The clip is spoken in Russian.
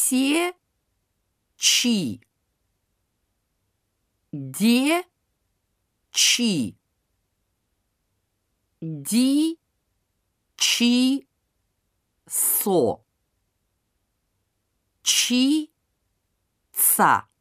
Се, чи. Де, чи. Ди, чи, со. Чи, ца.